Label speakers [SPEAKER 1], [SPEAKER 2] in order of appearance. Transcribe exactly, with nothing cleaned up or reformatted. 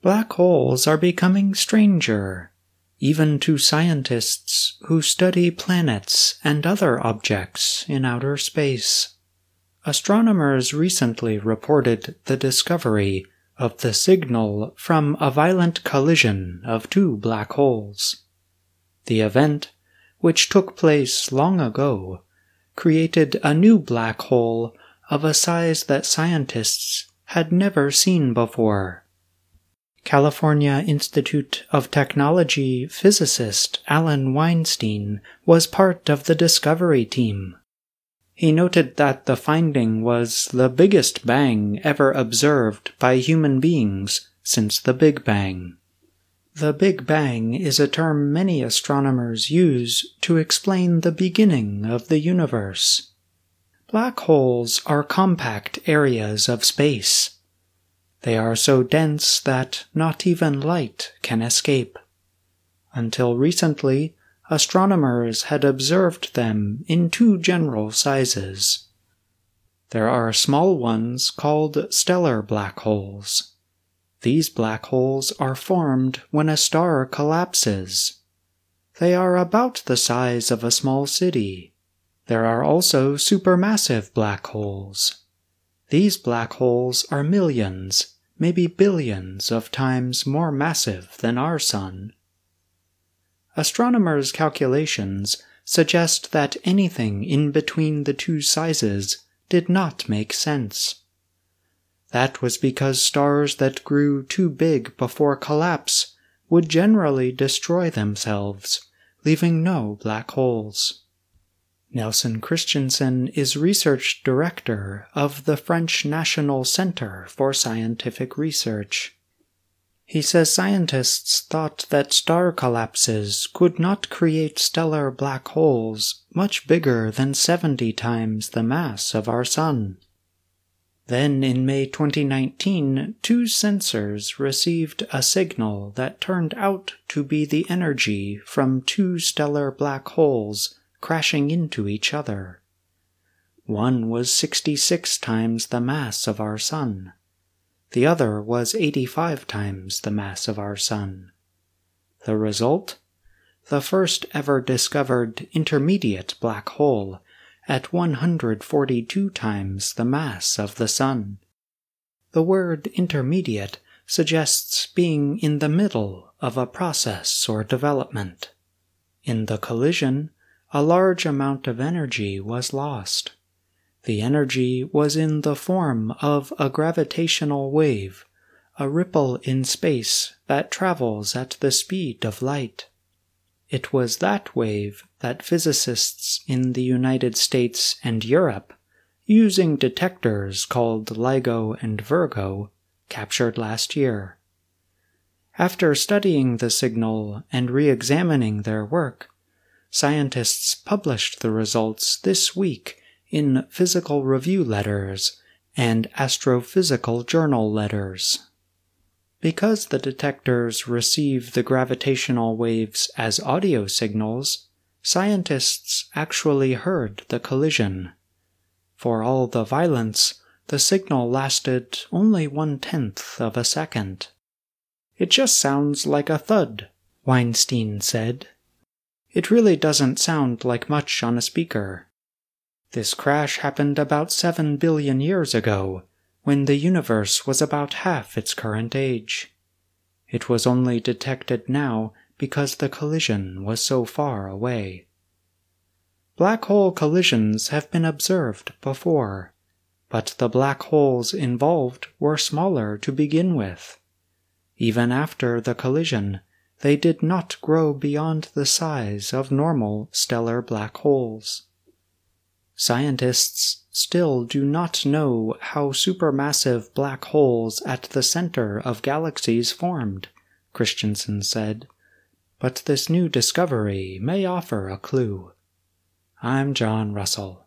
[SPEAKER 1] Black holes are becoming stranger, even to scientists who study planets and other objects in outer space. Astronomers recently reported the discovery of the signal from a violent collision of two black holes. The event, which took place long ago, created a new black hole of a size that scientists had never seen before. California Institute of Technology physicist Alan Weinstein was part of the discovery team. He noted that the finding was the biggest bang ever observed by human beings since the Big Bang. The Big Bang is a term many astronomers use to explain the beginning of the universe. Black holes are compact areas of space. They are so dense that not even light can escape. Until recently, astronomers had observed them in two general sizes. There are small ones called stellar black holes. These black holes are formed when a star collapses. They are about the size of a small city. There are also supermassive black holes. These black holes are millions, maybe billions of times more massive than our Sun. Astronomers' calculations suggest that anything in between the two sizes did not make sense. That was because stars that grew too big before collapse would generally destroy themselves, leaving no black holes. Nelson Christensen is research director of the French National Center for Scientific Research. He says scientists thought that star collapses could not create stellar black holes much bigger than seventy times the mass of our Sun. Then in May twenty nineteen, two sensors received a signal that turned out to be the energy from two stellar black holes crashing into each other. One was sixty-six times the mass of our Sun. The other was eighty-five times the mass of our Sun. The result? The first ever discovered intermediate black hole at one hundred forty-two times the mass of the Sun. The word intermediate suggests being in the middle of a process or development. In the collision, a large amount of energy was lost. The energy was in the form of a gravitational wave, a ripple in space that travels at the speed of light. It was that wave that physicists in the United States and Europe, using detectors called LIGO and Virgo, captured last year. After studying the signal and re-examining their work, scientists published the results this week in Physical Review Letters and Astrophysical Journal Letters. Because the detectors receive the gravitational waves as audio signals, scientists actually heard the collision. For all the violence, the signal lasted only one-tenth of a second. "It just sounds like a thud," Weinstein said. "It really doesn't sound like much on a speaker. This crash happened about seven billion years ago, when the universe was about half its current age. It was only detected now because the collision was so far away." Black hole collisions have been observed before, but the black holes involved were smaller to begin with. Even after the collision, they did not grow beyond the size of normal stellar black holes. Scientists still do not know how supermassive black holes at the center of galaxies formed, Christensen said, but this new discovery may offer a clue. I'm John Russell.